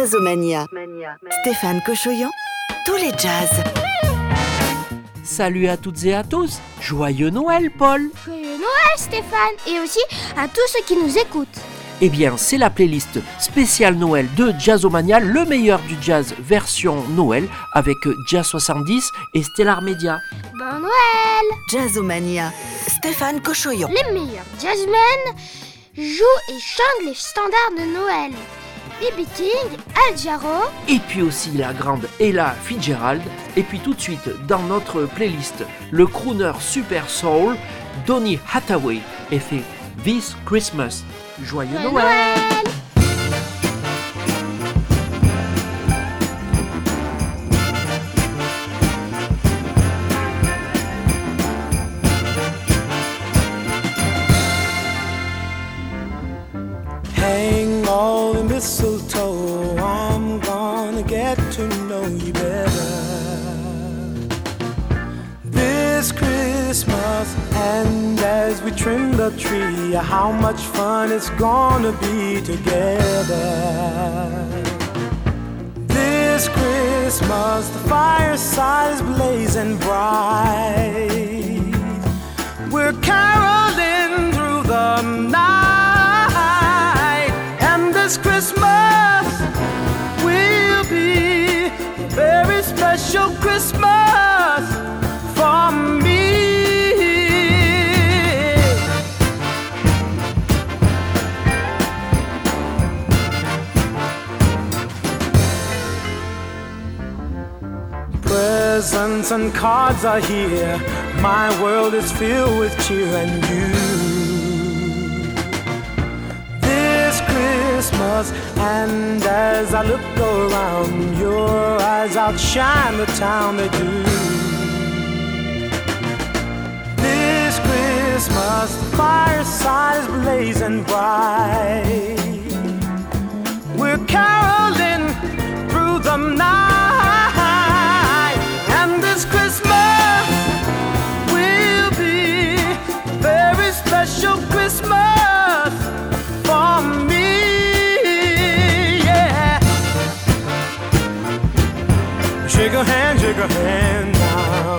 Jazzomania. Stéphane Cochoyan, tous les jazz. Salut à toutes et à tous, joyeux Noël Paul. Joyeux Noël Stéphane, et aussi à tous ceux qui nous écoutent. Eh bien, c'est la playlist spéciale Noël de Jazzomania, le meilleur du jazz version Noël avec Jazz 70 et Stellar Media. Bon Noël! Jazzomania. Stéphane Cochoyan. Les meilleurs jazzmen jouent et chantent les standards de Noël. B.B. King, Al Jarreau. Et puis aussi la grande Ella Fitzgerald. Et puis tout de suite, dans notre playlist, le crooner Super Soul, Donny Hathaway, et fait This Christmas. Joyeux Noël! Hang all the mistletoe, I'm gonna get to know you better this Christmas. And as we trim the tree, how much fun it's gonna be together this Christmas. The fireside is blazing bright, we're caroling through the night, and this Christmas will be a very special Christmas for me. Presents and cards are here, my world is filled with cheer and you. This Christmas, and as I look around, your eyes outshine the town they do. This Christmas, the fireside is blazing bright, we're caroling through the night, and this Christmas will be a very special Christmas for me, yeah. Shake a hand now.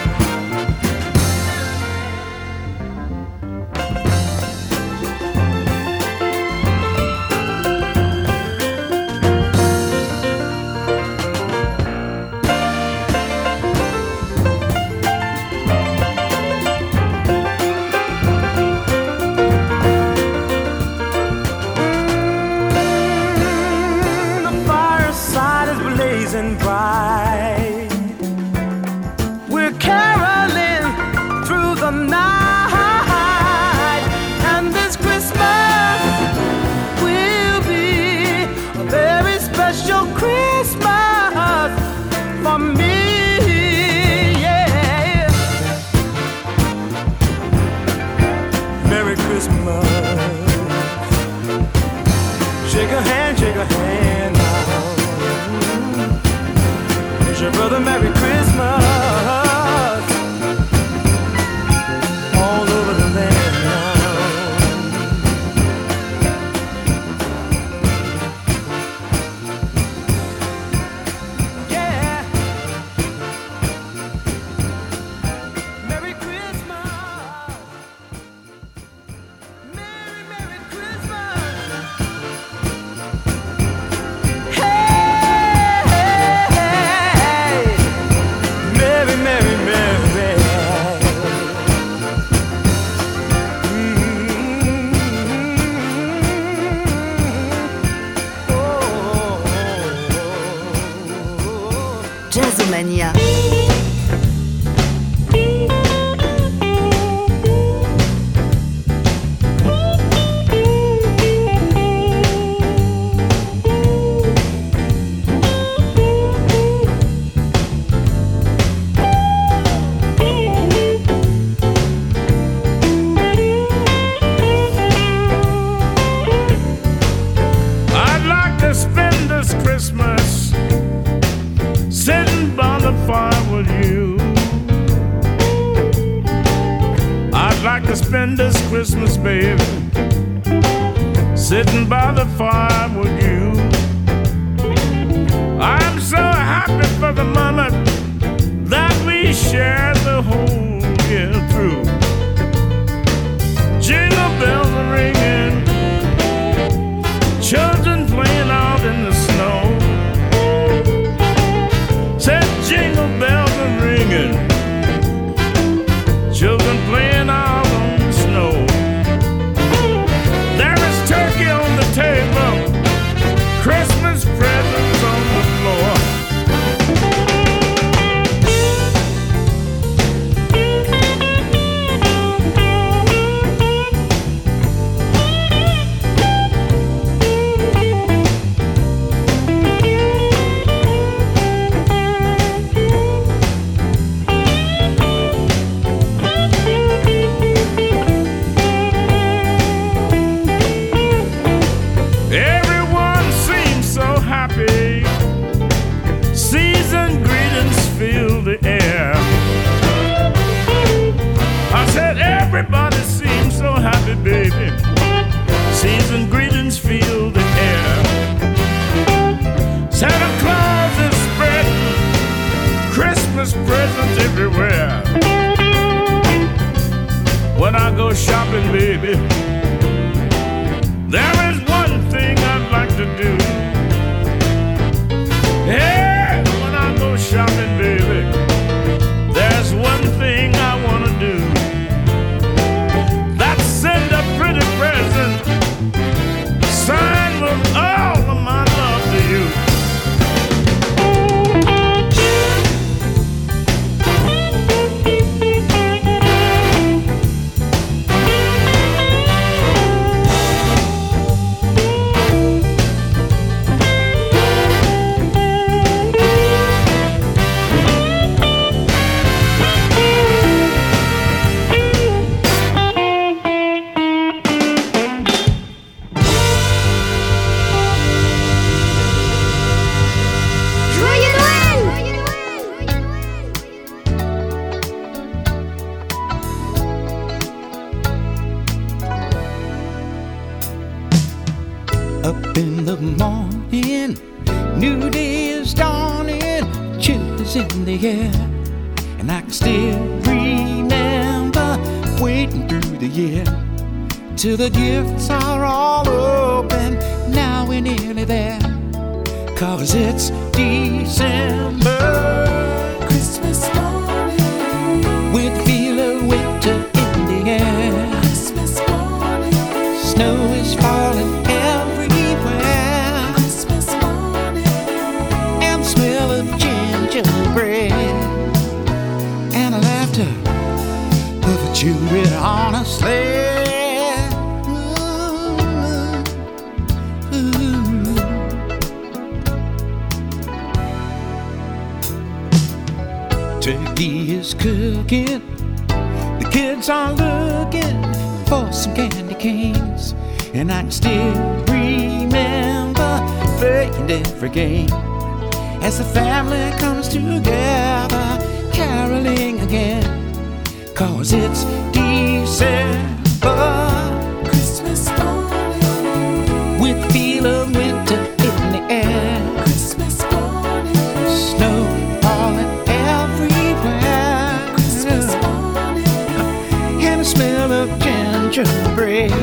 Bright, we're caroling through the night, and this Christmas will be a very special Christmas for me, yeah. Merry Christmas. Shake a hand now. Your brother, Merry Christmas, all over the land now. Yeah, Merry Christmas, Merry, Merry Christmas. Jazzomania. I'd like to spend this Christmas sitting by the fire with you. I'd like to spend this Christmas, baby, sitting by the fire with you. I'm so happy for the moment that we share the whole year through. Jingle bells are ringing, children playing out in the snow. Said jingle bells are ringing, children playing out on the snow. There is turkey on the table, Christmas presents on the floor. Everybody seems so happy, baby. Season greetings fill the air. Santa Claus is spreading Christmas presents everywhere. When I go shopping, baby, there is one thing I'd like to do. Yeah, when I go shopping, baby, there's one thing I want to do. Send a pretty present, signed with all of my love to you. Up in the morning, new day is dawning, chill is in the air, and I can still remember waiting through the year till the gifts are all open. Now we're nearly there, 'cause it's December. Christmas morning, with the feel of winter in the air. Christmas morning, snow is falling everywhere. Christmas morning, and the smell of gingerbread, and the laughter of the children on a sleigh. Turkey is cooking, the kids are looking for some candy canes, and I can still remember playing every game as the family comes together, caroling again, 'cause it's December. Christmas morning, with the feel of winter in the air. Christmas morning, snow falling everywhere. Christmas morning, and the smell of gingerbread,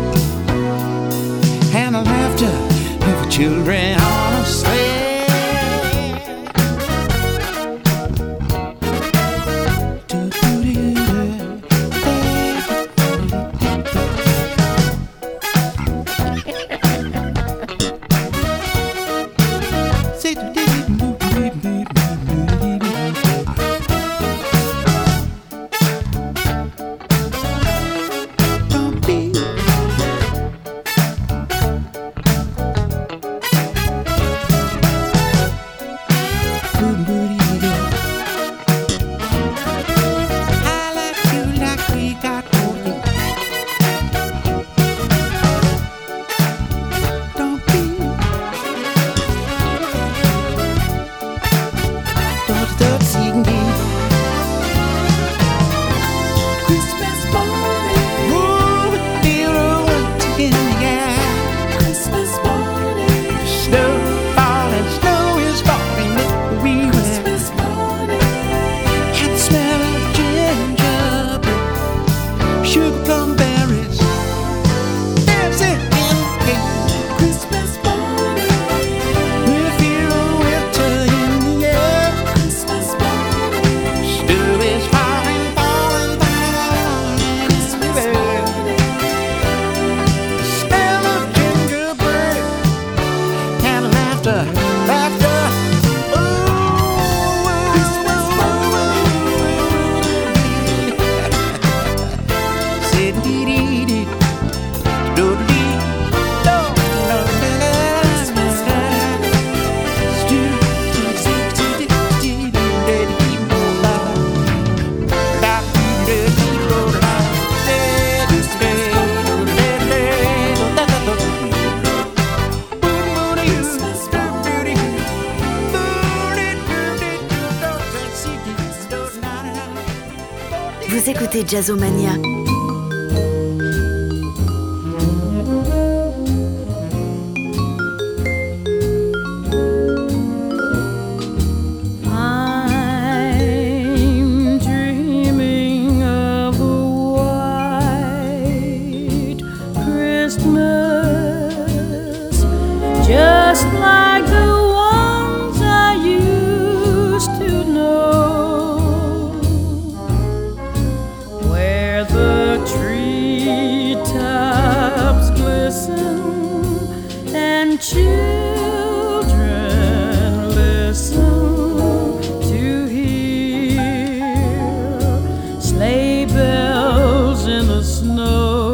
and the laughter of the children on a sleigh. Vous écoutez Jazzomania. Just like the ones I used to know, where the treetops glisten and children listen to hear sleigh bells in the snow.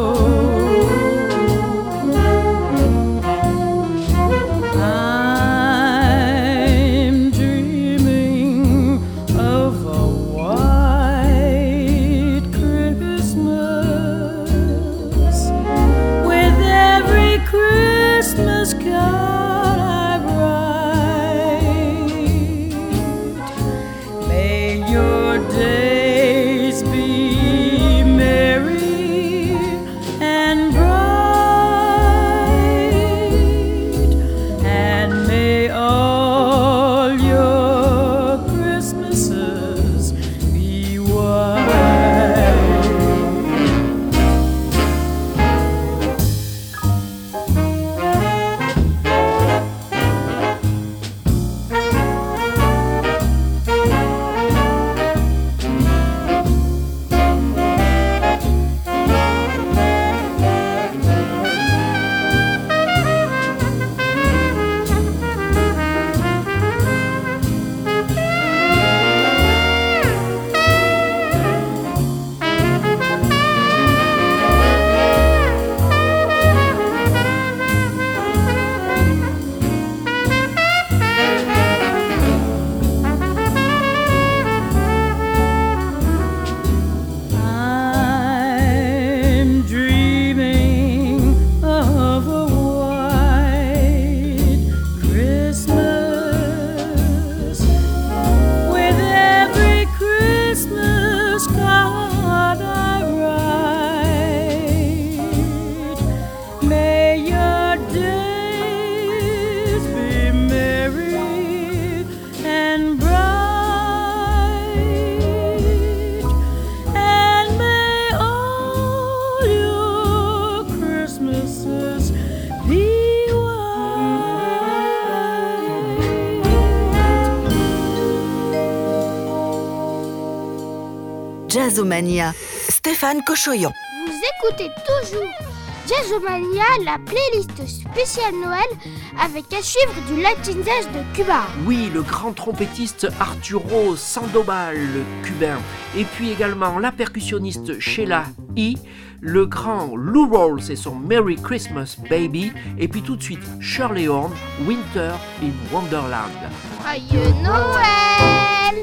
Christmas card I write, may your days be merry and bright, and may all your Christmases be white. Jazzomania, Stéphane Cochoyan. Vous écoutez toujours Jazzomania, la playlist spéciale Noël avec à suivre du Latin Jazz de Cuba. Oui, le grand trompettiste Arturo Sandoval, le cubain. Et puis également la percussionniste Sheila E., le grand Lou Rawls et son Merry Christmas Baby. Et puis tout de suite Shirley Horn, Winter in Wonderland. Joyeux Noël!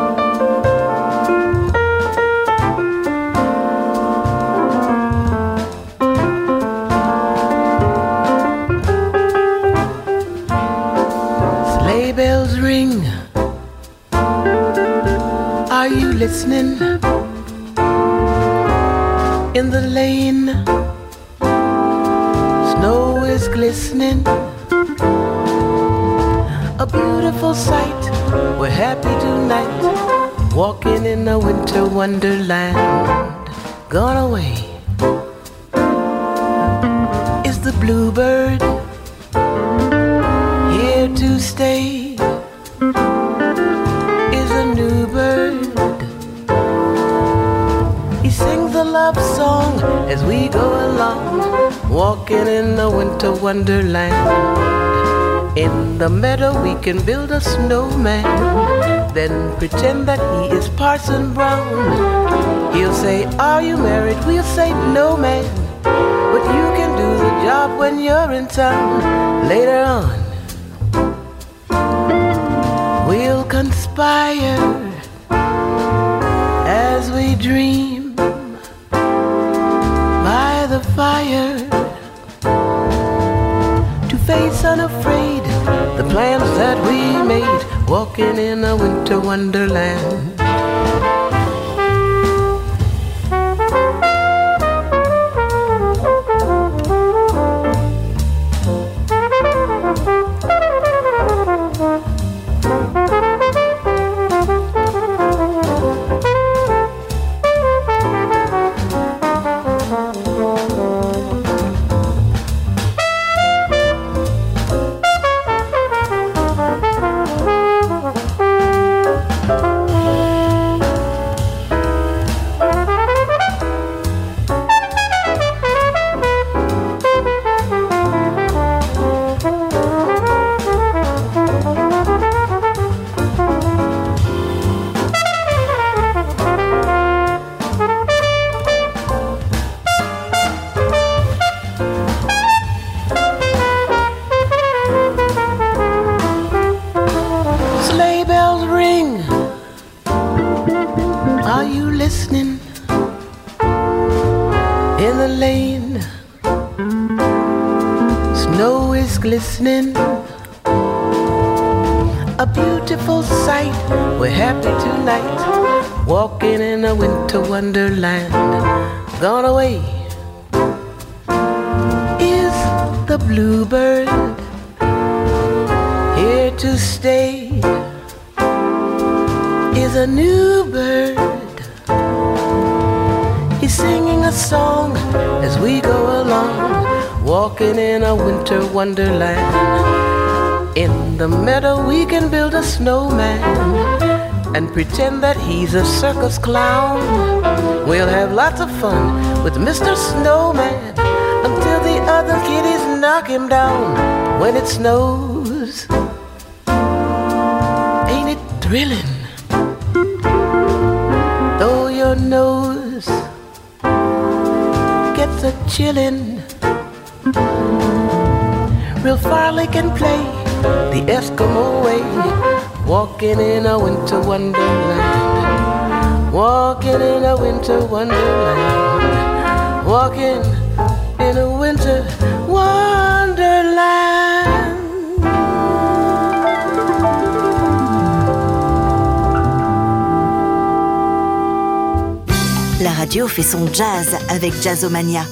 Sleigh bells ring. Are you listening? In the lane, snow is glistening. A beautiful sight. We're happy tonight, walking in a winter wonderland. Gone away is the bluebird, here to stay is a new bird. He sings a love song as we go along, walking in a winter wonderland. In the meadow we can build a snowman, then pretend that he is Parson Brown. He'll say, are you married? We'll say, no man, but you can do the job when you're in town. Later on we'll conspire as we dream by the fire, to face unafraid the plans that we made, walking in a winter wonderland. Are you listening? In the lane, snow is glistening. A beautiful sight. We're happy tonight, walking in a winter wonderland. Gone away is the bluebird, here to stay is a new bird. He's singing a song as we go along, walking in a winter wonderland. In the meadow we can build a snowman and pretend that he's a circus clown. We'll have lots of fun with Mr. Snowman until the other kiddies knock him down when it snows. Ain't it thrilling? Though your nose gets a chillin', real Farley can play the Eskimo way, walking in a winter wonderland, walking in a winter wonderland, walking in a winter wonderland. La radio fait son jazz avec Jazzomania.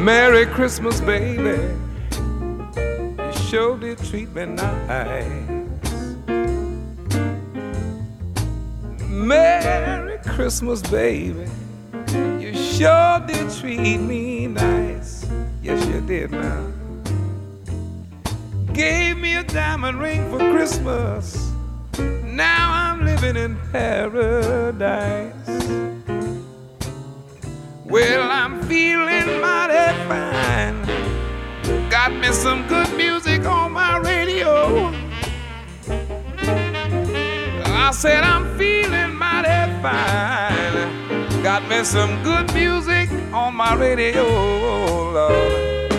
Merry Christmas, baby. You sure did treat me nice. Merry Christmas, baby. You sure did treat me nice. Yes, you did now. Gave me a diamond ring for Christmas. Now I'm living in paradise. Well, I'm feeling mighty fine. Got me some good music on my radio. I said I'm feeling mighty fine. Got me some good music on my radio, Lord.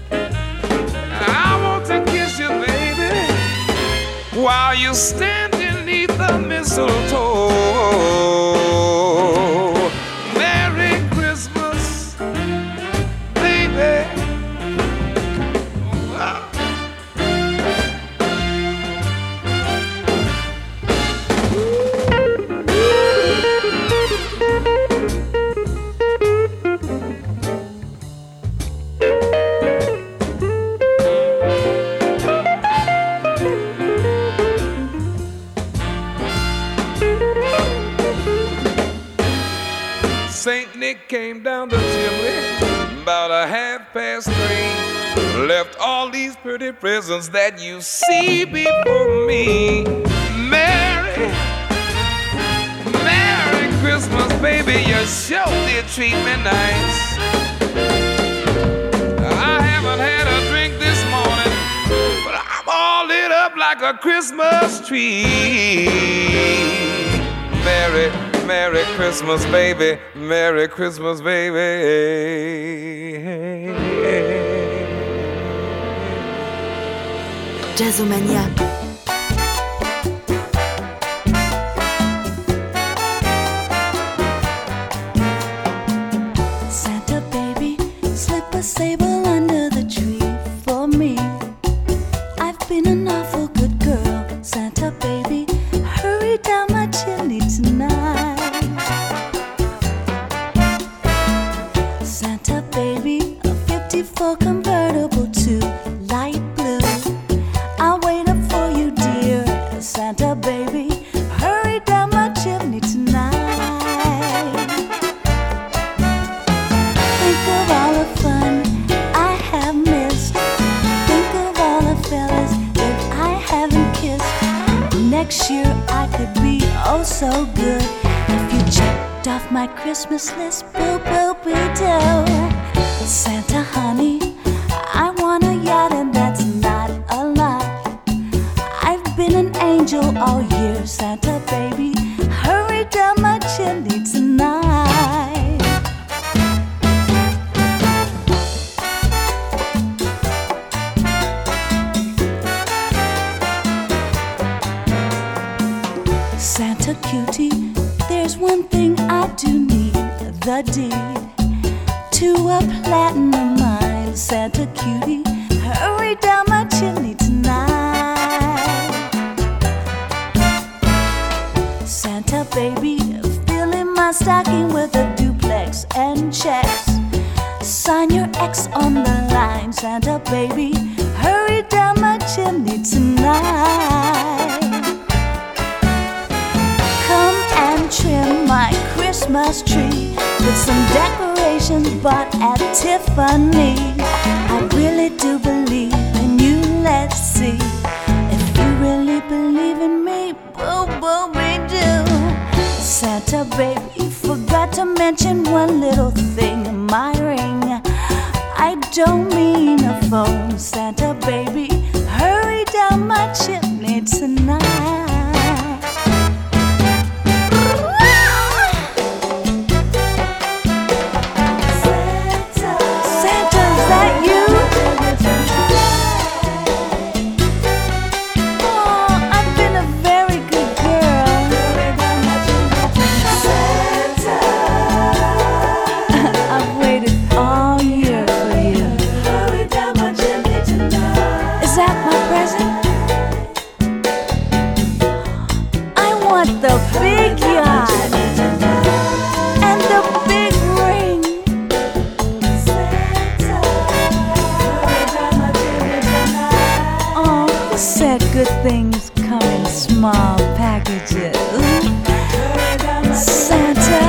I want to kiss you, baby, while you stand beneath the mistletoe. Merry Christmas, baby. Saint Nick came down the chimney about 3:30. Left all these pretty presents that you see before me. Merry Christmas, baby, you sure did treat me nice. I haven't had a drink this morning, but I'm all lit up like a Christmas tree. Merry Christmas, baby. Merry Christmas, baby. Jazzomania. Santa baby, slip a sable under the tree for me. I've been an awful good girl. Santa baby, hurry down my chimney tonight. Santa baby, a 54 convertible to light blue. I'll wait up for you, dear. Santa baby, hurry down my chimney tonight. Think of all the fun I have missed. Think of all the fellas that I haven't kissed. Next year I could be oh so good if you checked off my Christmas list. Boo boo boo doo. Santa honey, I want a yacht and that's not a lot. I've been an angel all year. Santa baby, hurry down my chimney tonight. Santa cutie, there's one thing I do need, the deed to a platinum mine. Santa cutie, hurry down my chimney tonight. Santa baby, filling my stocking with a duplex and checks. Sign your X on the line. Santa baby, hurry down my chimney tonight. Come and trim my Christmas tree with some decorations bought at Tiffany. I really do believe in you, let's see if you really believe in me. Boo boo we do. Santa baby, forgot to mention one little thing, my ring. I don't mean a phone. Santa baby, hurry down my chimney tonight. The big yacht and the big ring. Santa. small packages. Santa,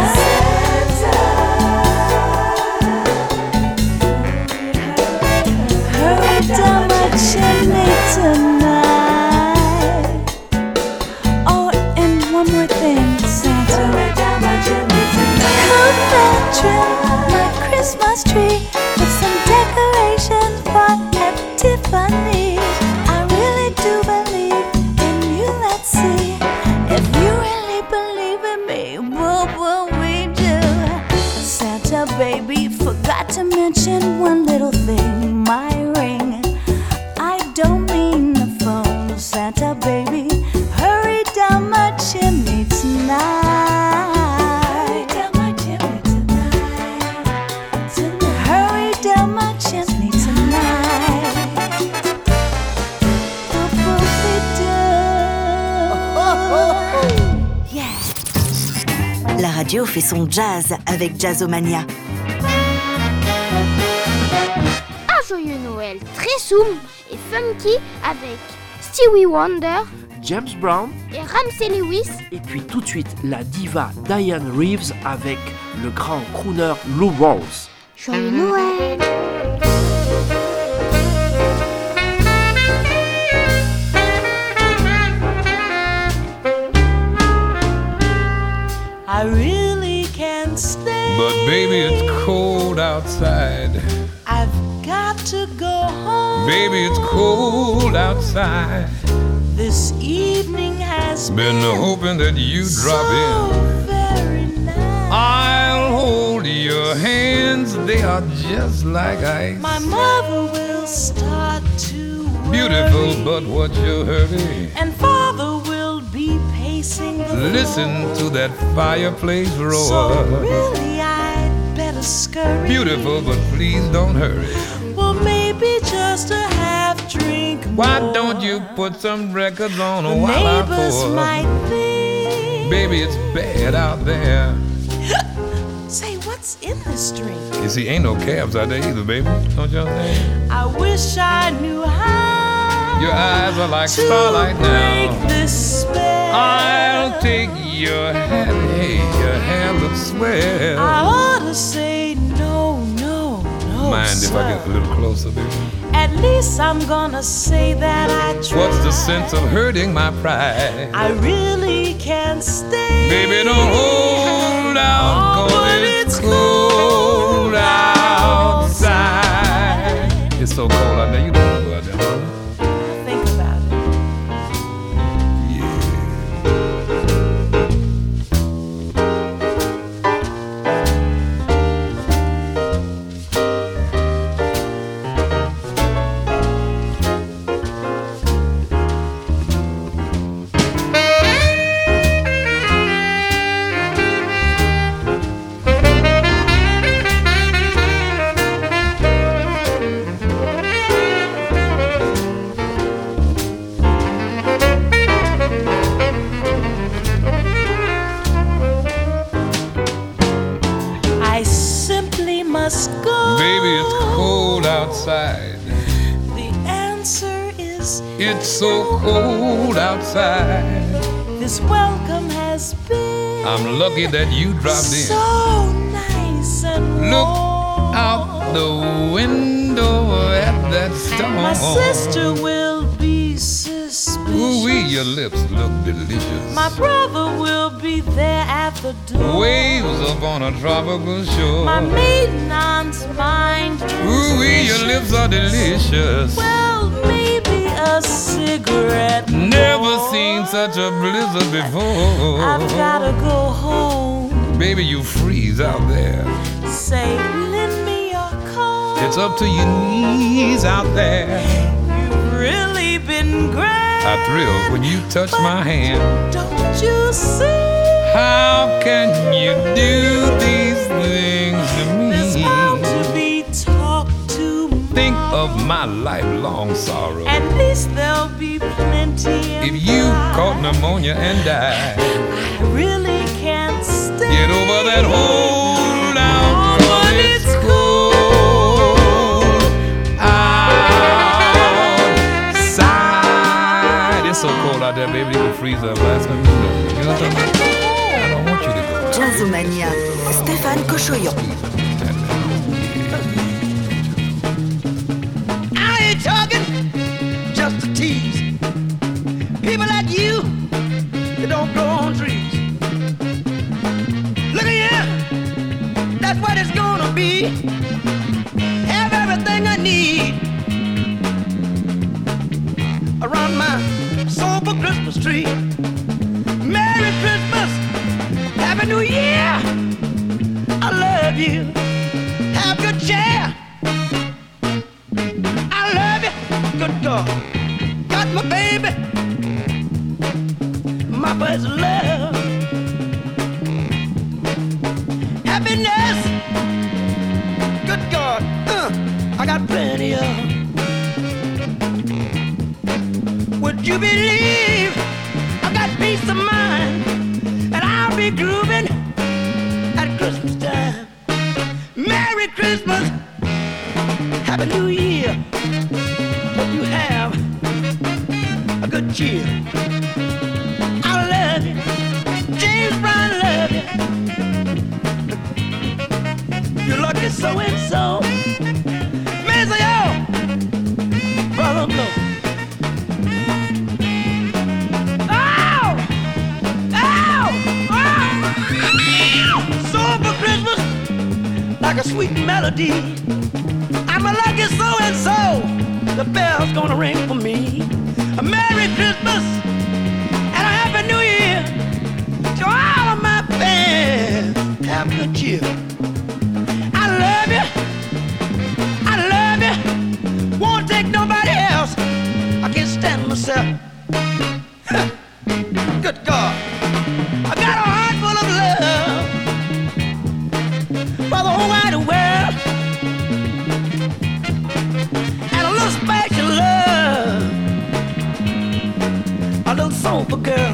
hurry down my chimney tonight. Oh, and one more thing, Santa, hurry down my chimney tonight. Come and trim my Christmas tree with some decorations for at Tiffany's. I really do believe in you, let's see if you really believe in me. What will we do? Santa baby, forgot to mention one little thing, my ring. I don't mean the phone. Santa baby, hurry down my chimney tonight. Hurry down my chimney tonight. Hurry down my chimney tonight. What will we do? Yeah. La radio fait son jazz avec Jazzomania. Un joyeux Noël très soum et funky avec Stevie Wonder James Brown, et Ramsey Lewis. et puis tout de suite la diva Diane Reeves avec le grand crooner Lou Rawls. Joyeux Noël! I really can't stay. But baby, it's cold outside. I've got to go home. Baby, it's cold outside. This evening has Been hoping that you drop so in. very nice. I'll hold your hands, they are just like ice. My mother will start to worry. Beautiful, but what's your hurry? And father will be pacing the Listen floor. to that fireplace roar. So really I'd better scurry. Beautiful, but please don't hurry. Well, maybe just a half drink more. Why don't you put some records on The while I neighbors pour? might think. Baby, it's bad out there. Say, what's in this drink? You see, ain't no cabs out there either, baby. Don't you understand? I wish I knew how. Your eyes are like to starlight break now. this spell. I'll take your hand, hey, your hand looks swell. I ought to say no, no, no. Mind sir. if I get a little closer, baby? At least I'm gonna say that I tried. What's the sense of hurting my pride? I really can't stay. Baby, don't hold out, Oh, 'cause but it's cold outside. It's so cold out there, you don't wanna go out there, huh? Think about it. I simply must go. Baby, it's cold outside. The answer is It's so cold outside. this welcome has been I'm lucky that you dropped in. so nice and Look warm. out the window at that storm. My sister will be suspicious. Ooh-wee, your lips look delicious. My brother will be there at the door. Waves up on a tropical shore. My maiden aunt's mind is Ooh-wee, your vicious. lips are delicious. Well, maybe a cigarette. Never more. seen such a blizzard before. I've gotta go home. Baby, you freeze out there. Say, lend me your coat. It's up to your knees out there. You've really been great. I thrill when you touch my hand. Don't you see? How can you do these things to There's me? bound to be talk to Think of my lifelong sorrow. At least there'll be plenty If you caught pneumonia and died, I really can't stay. get over that hold out, Oh, 'cause but it's it's cold outside. It's so cold out there, baby, you can freeze Chinese last name. You know what I'm talking about? I don't want you to go. Jazzomania, Stéphane Cochoyan. I ain't talking just to tease. People like you, they don't grow on trees. Look at here, that's what it's gonna be. Have everything I need around my soulful Christmas tree. Merry Christmas, Happy New Year. I love you. Have good cheer. I love you. Good God, got my baby, my first love. Happiness, good God, I got plenty of. Would you believe I got peace of mind, and I'll be grooving at Christmas time. Merry Christmas, Happy New Year. Hope you have a good cheer. I love you, James Brown love you. You're lucky so and so. Miss yo, brother blow. Like a sweet melody, I'm a lucky so-and-so. The bell's gonna ring for me. A Merry Christmas and a Happy New Year to all of my fans. Have good cheer. I love you, I love you. Won't take nobody else. I can't stand myself. Good God, I got a heart full of love for the whole wide world, and a little special love, a little soulful girl.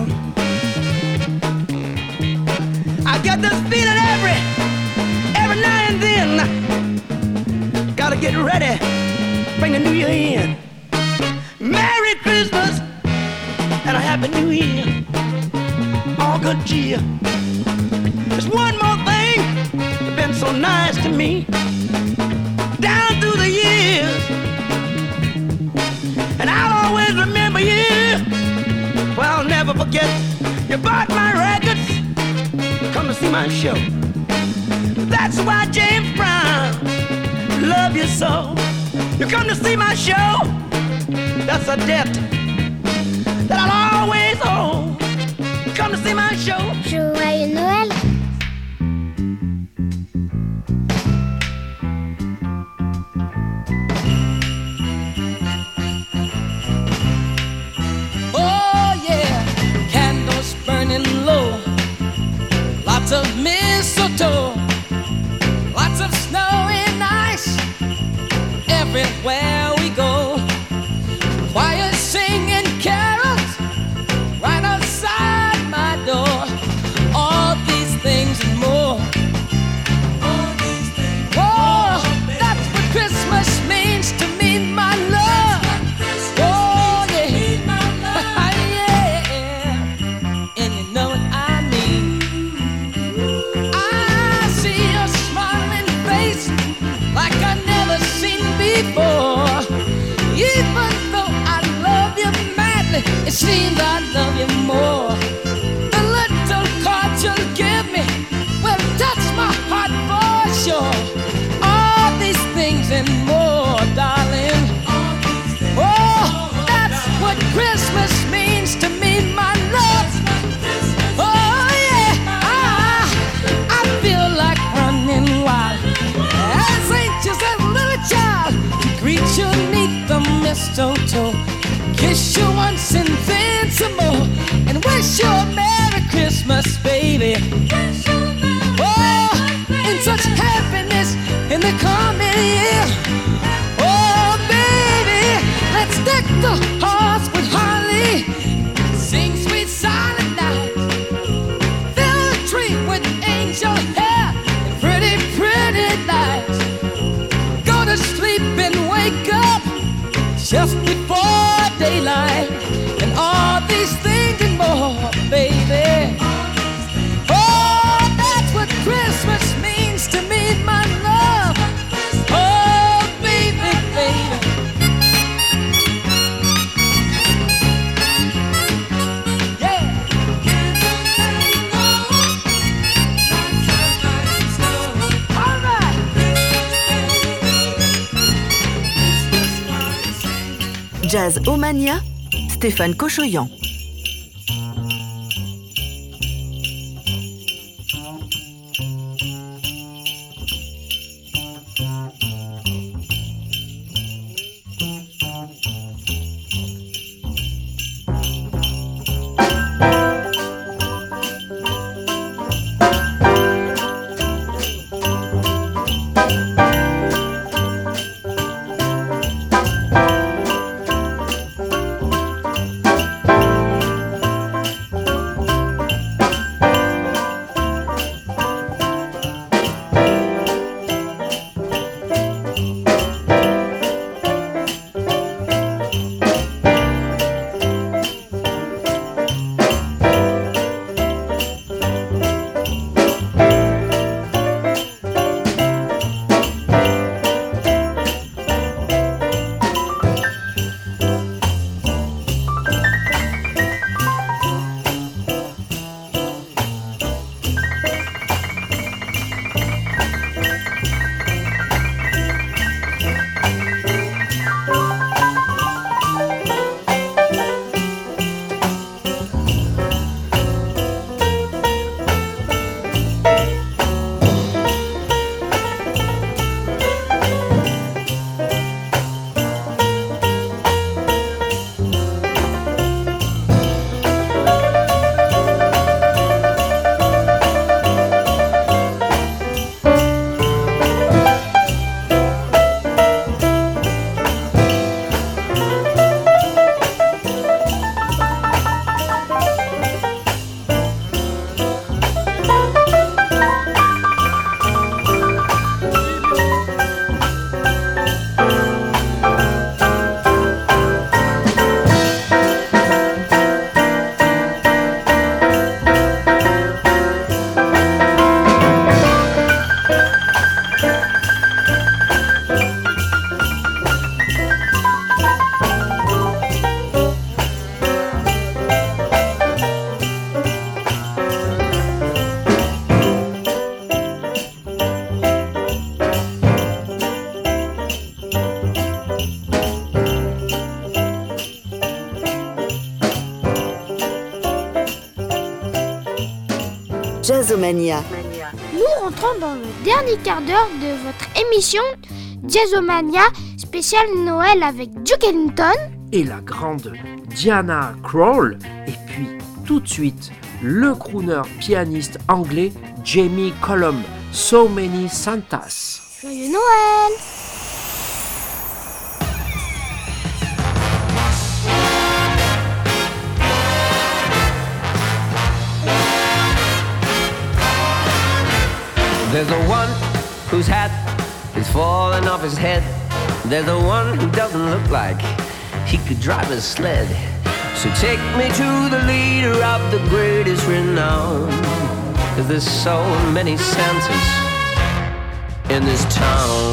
I get this feeling every now and then. Gotta get ready, bring the new year in. Merry Christmas and a Happy New Year. All good cheer. There's one more thing that's been so nice to me down through the years, and I'll always remember you. Well, I'll never forget. You bought my records, come to see my show. That's why James Brown love you so. You come to see my show. That's a debt that I'll always owe. Come to see my show. Joyeux Noël. Oh yeah, candles burning low, lots of mistletoe, lots of snow and ice everywhere we go. Choir singing carols right outside my door. All these things and more. Oh, that's what Christmas means to me, my love. Oh yeah, yeah, and you know what I mean. I see your smiling face like I've never seen before. Even though I love you madly, it seems I love you more. The little cards you'll give me will touch my heart for sure. All these things and more, darling. Oh, that's what Christmas means to me, my love. Oh yeah, I feel like running wild as anxious as a little child to greet you neath the mistletoe, kiss you once and then some more, and wish you a Merry Christmas, baby. Oh, in such happiness in the coming year. Oh, baby, let's deck the halls with holly, sing sweet silent night, fill the tree with angel hair and pretty, pretty lights. Go to sleep and wake up just before daylight, and all these things and more. Jazzomania, Stéphane Cochoyan. Jazzomania. Nous rentrons dans le dernier quart d'heure de votre émission Jazzomania spéciale Noël avec Duke Ellington et la grande Diana Krall, et puis tout de suite le crooner pianiste anglais Jamie Cullum, So Many Santas. Joyeux Noël! There's the one whose hat is falling off his head. There's the one who doesn't look like he could drive a sled. So take me to the leader of the greatest renown, 'cause there's so many Santas in this town.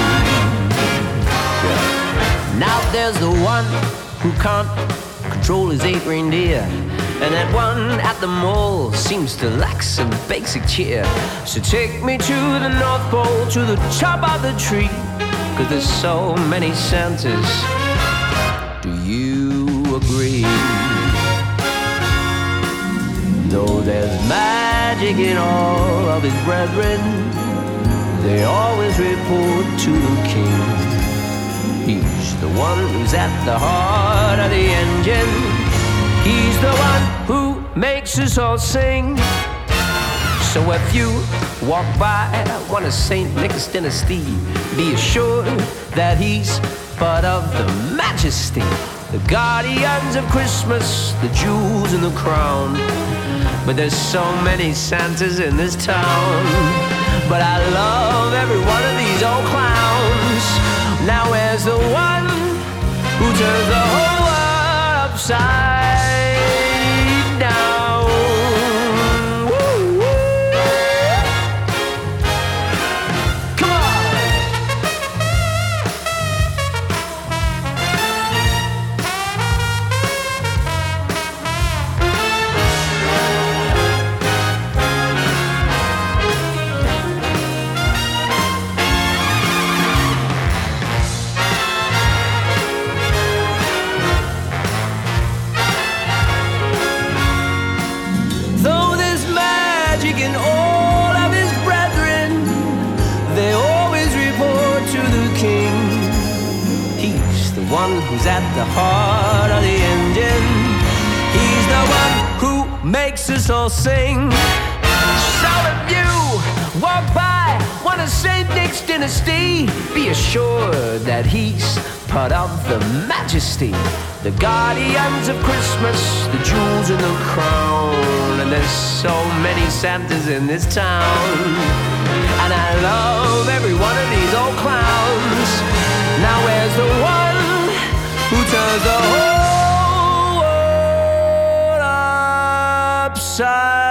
Yeah. Now there's the one who can't control his 8 reindeer, and that one at the mall seems to lack some basic cheer. So take me to the North Pole, to the top of the tree, 'cause there's so many Santas. Do you agree? Though there's magic in all of his brethren, they always report to the king. He's the one who's at the heart of the engine. He's the one who makes us all sing. So if you walk by one of St. Nicholas dynasty, be assured that he's part of the majesty, the guardians of Christmas, the jewels in the crown. But there's so many Santas in this town, but I love every one of these old clowns. Now where's the one who turns the whole world upside down? Woo, woo. Come on! magic in all of his brethren. They always report to the king. He's the one who's at the heart of the engine. He's the one who makes us all sing. So if you walk by one of St. Nick's dynasty, be assured that he's part of the majesty, the guardians of Christmas, the jewels in the crown. And there's so many Santas in this town, and I love every one of these old clowns. Now where's the one who turns the whole world upside?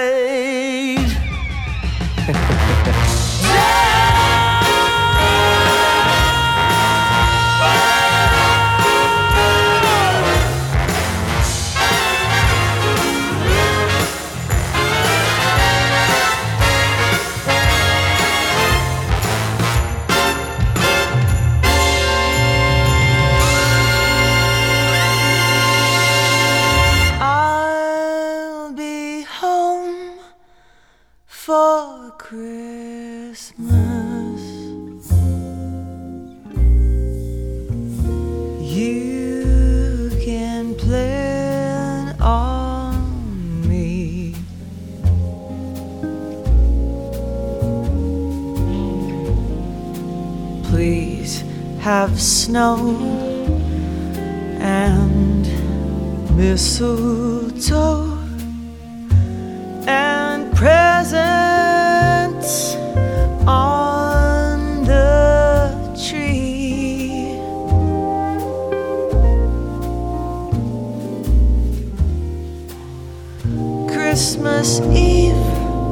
For Christmas, you can plan on me. Please have snow and mistletoe and presents on the tree. Christmas Eve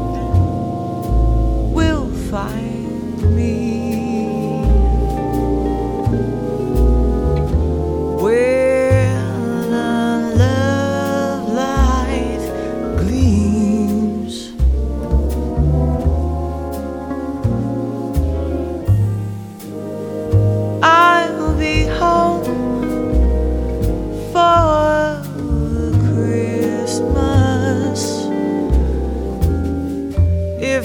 will find me where the love light gleams. I'll be home for Christmas, if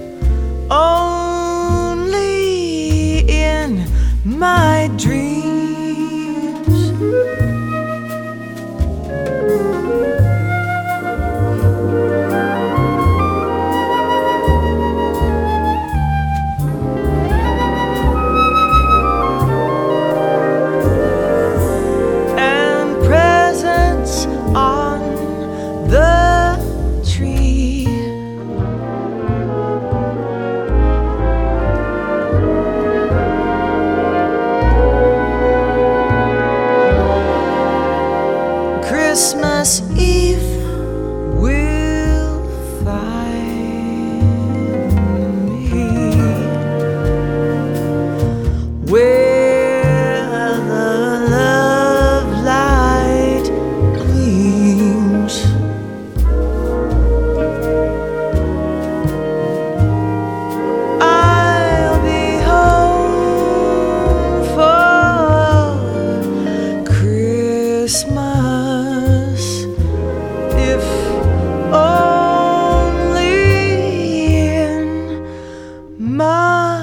only in my dreams. And presents on the tree. Christmas Eve will find me where the love light gleams. I'll be home for Christmas, if only in my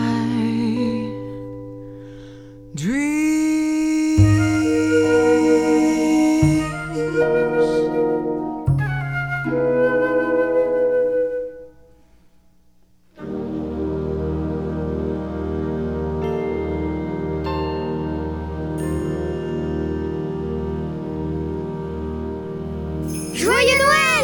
Joyeux Noël!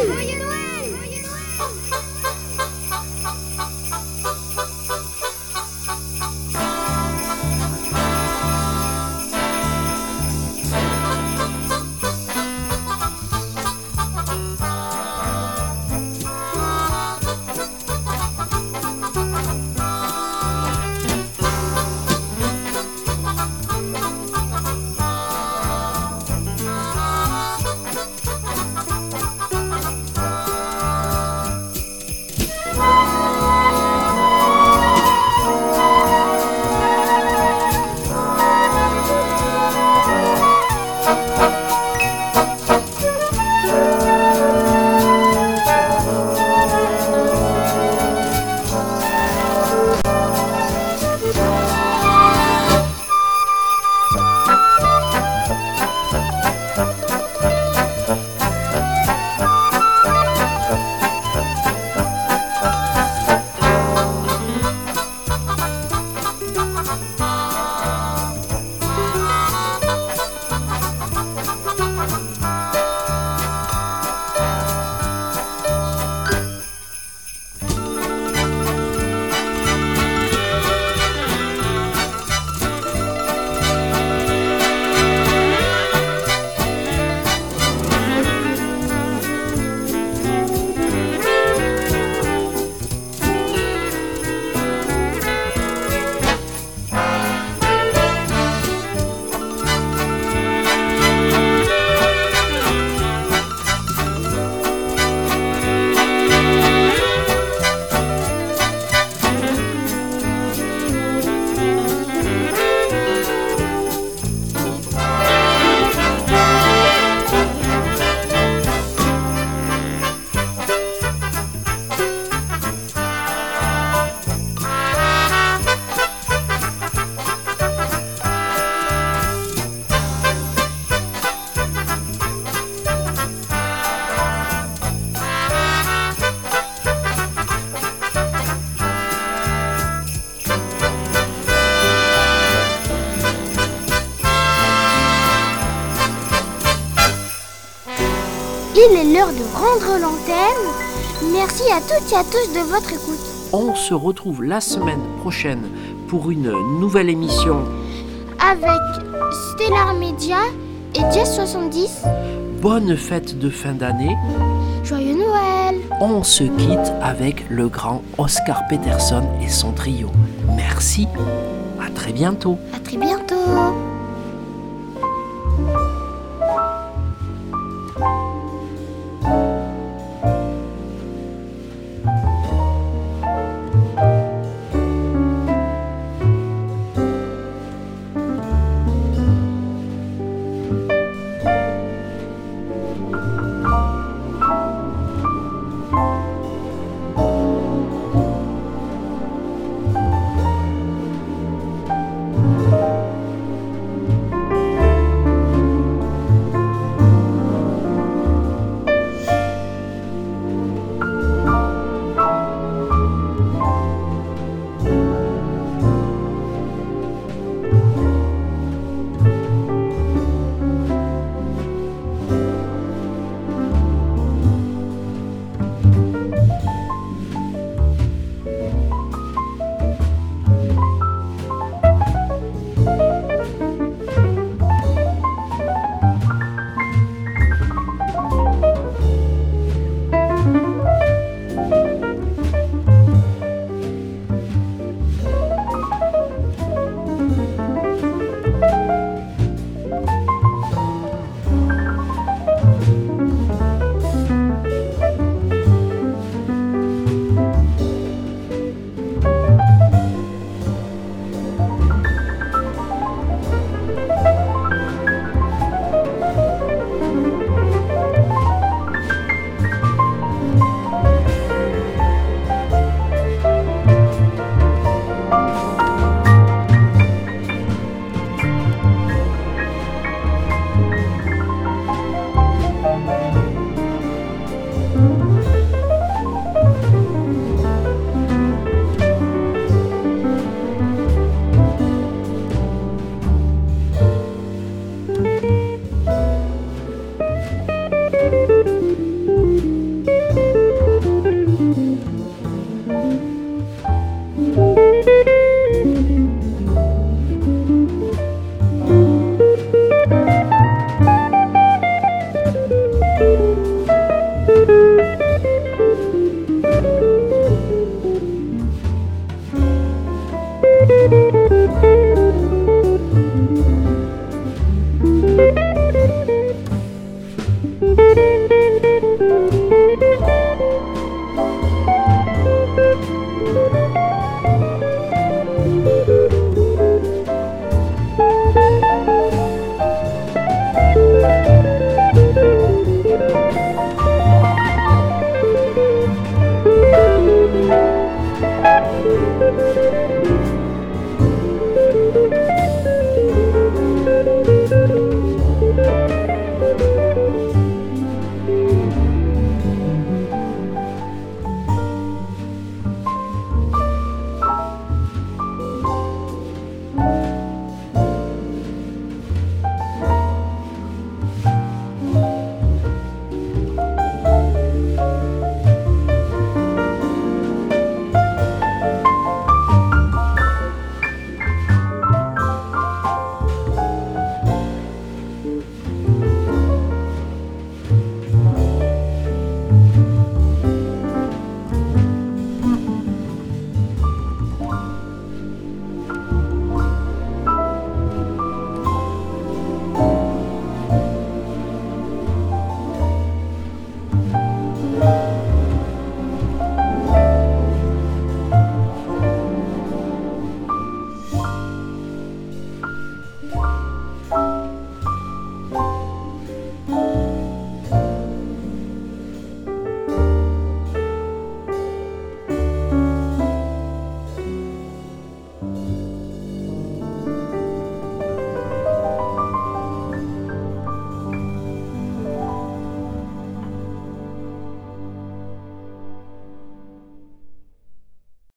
il est l'heure de rendre l'antenne. Merci à toutes et à tous de votre écoute. On se retrouve la semaine prochaine pour une nouvelle émission avec Stellar Media et Jazz 70. Bonne fête de fin d'année. Joyeux Noël. On se quitte avec le grand Oscar Peterson et son trio. Merci, à très bientôt. À très bientôt.